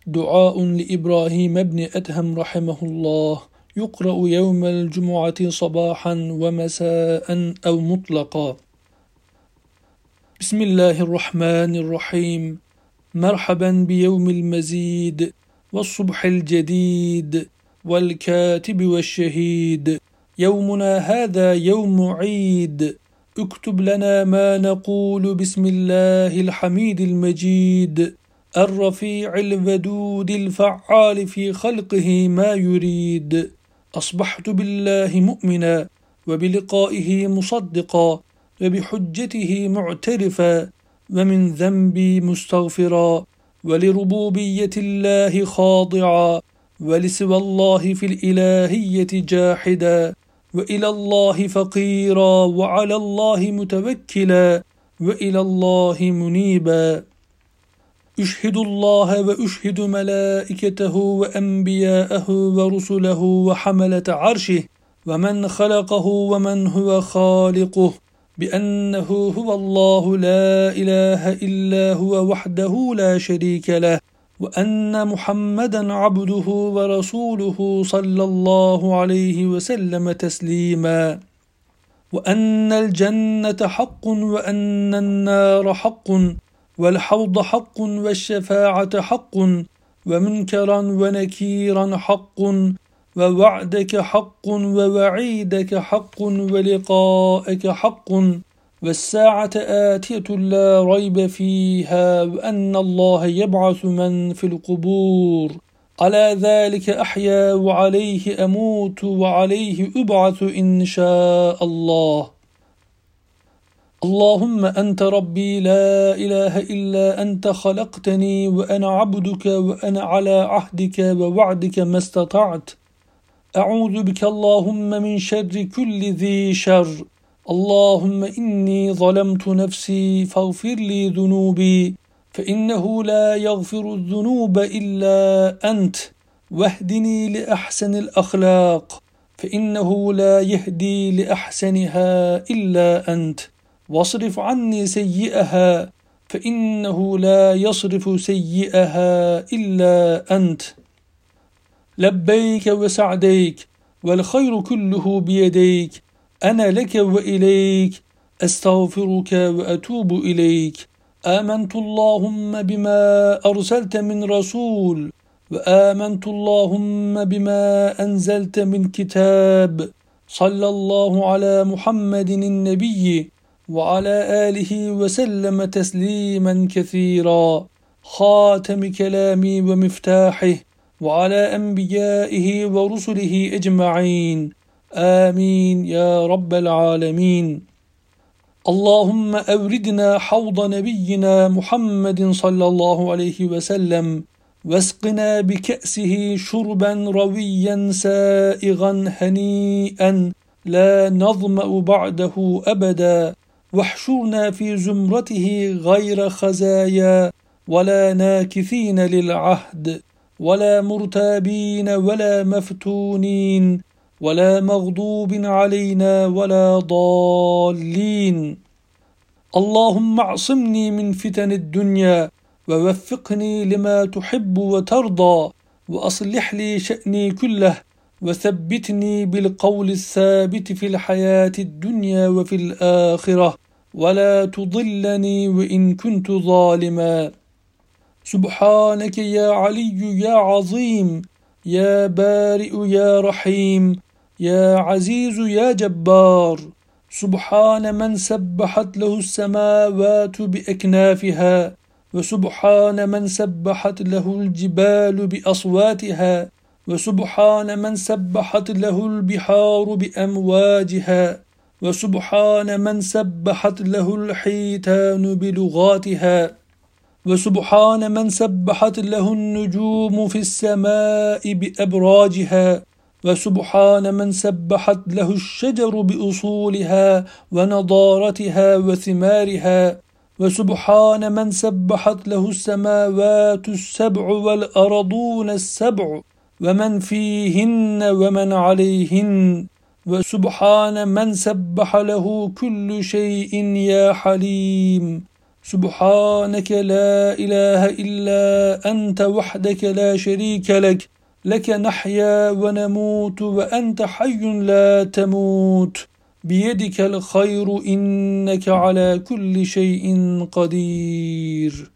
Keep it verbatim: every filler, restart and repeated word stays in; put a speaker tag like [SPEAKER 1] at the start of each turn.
[SPEAKER 1] دعاء لإبراهيم بن أدهم رحمه الله، يقرأ يوم الجمعة صباحا ومساء أو مطلقا. بسم الله الرحمن الرحيم. مرحبا بيوم المزيد والصبح الجديد والكاتب والشهيد. يومنا هذا يوم عيد، اكتب لنا ما نقول بسم الله الحميد المجيد الرفيع الودود الفعال في خلقه ما يريد. أصبحت بالله مؤمنا وبلقائه مصدقا وبحجته معترفا ومن ذنبي مستغفرا ولربوبية الله خاضعا ولسوى الله في الإلهية جاحدا وإلى الله فقيرا وعلى الله متوكلا وإلى الله منيبا. أشهد الله وأشهد ملائكته وأنبياءه ورسله وحملة عرشه ومن خلقه ومن هو خالقه بأنه هو الله لا إله إلا هو وحده لا شريك له، وأن محمدا عبده ورسوله صلى الله عليه وسلم تسليما، وأن الجنة حق وأن النار حق والحوض حق والشفاعة حق ومنكرا ونكيرا حق ووعدك حق ووعيدك حق ولقاءك حق والساعة آتية لا ريب فيها وأن الله يبعث من في القبور. على ذلك أحيا وعليه أموت وعليه أبعث إن شاء الله. اللهم أنت ربي لا إله إلا أنت، خلقتني وأنا عبدك وأنا على عهدك ووعدك ما استطعت. أعوذ بك اللهم من شر كل ذي شر. اللهم إني ظلمت نفسي فاغفر لي ذنوبي فإنه لا يغفر الذنوب إلا أنت، واهدني لأحسن الأخلاق فإنه لا يهدي لأحسنها إلا أنت، واصرف عني سيئها فإنه لا يصرف سيئها إلا أنت. لبيك وسعديك والخير كله بيديك، أنا لك وإليك أستغفرك وأتوب إليك. آمنت اللهم بما أرسلت من رسول، وآمنت اللهم بما أنزلت من كتاب. صلى الله على محمد النبي وعلى آله وسلم تسليما كثيرا. خاتم كلامي ومفتاحه وعلى أنبيائه ورسله أجمعين، آمين يا رب العالمين. اللهم أوردنا حوض نبينا محمد صلى الله عليه وسلم واسقنا بكأسه شربا رويا سائغا هنيئا لا نظمأ بعده أبدا، واحشرنا في زمرته غير خزايا ولا ناكثين للعهد ولا مرتابين ولا مفتونين ولا مغضوب علينا ولا ضالين. اللهم اعصمني من فتن الدنيا ووفقني لما تحب وترضى، وأصلح لي شأني كله وثبتني بالقول الثابت في الحياة الدنيا وفي الآخرة، ولا تضلني وإن كنت ظالما. سبحانك يا علي يا عظيم يا بارئ يا رحيم يا عزيز يا جبار. سبحان من سبحت له السماوات بأكنافها، وسبحان من سبحت له الجبال بأصواتها، وسبحان من سبحت له البحار بأمواجها، وسبحان من سبحت له الحيتان بلغاتها، وسبحان من سبحت له النجوم في السماء بأبراجها، وسبحان من سبحت له الشجر بأصولها ونضارتها وثمارها، وسبحان من سبحت له السماوات السبع والأرضون السبع ومن فيهن ومن عليهن، وسبحان من سبح له كل شيء يا حليم. سبحانك لا إله إلا أنت وحدك لا شريك لك لك نحيا ونموت وأنت حي لا تموت بيدك الخير إنك على كل شيء قدير.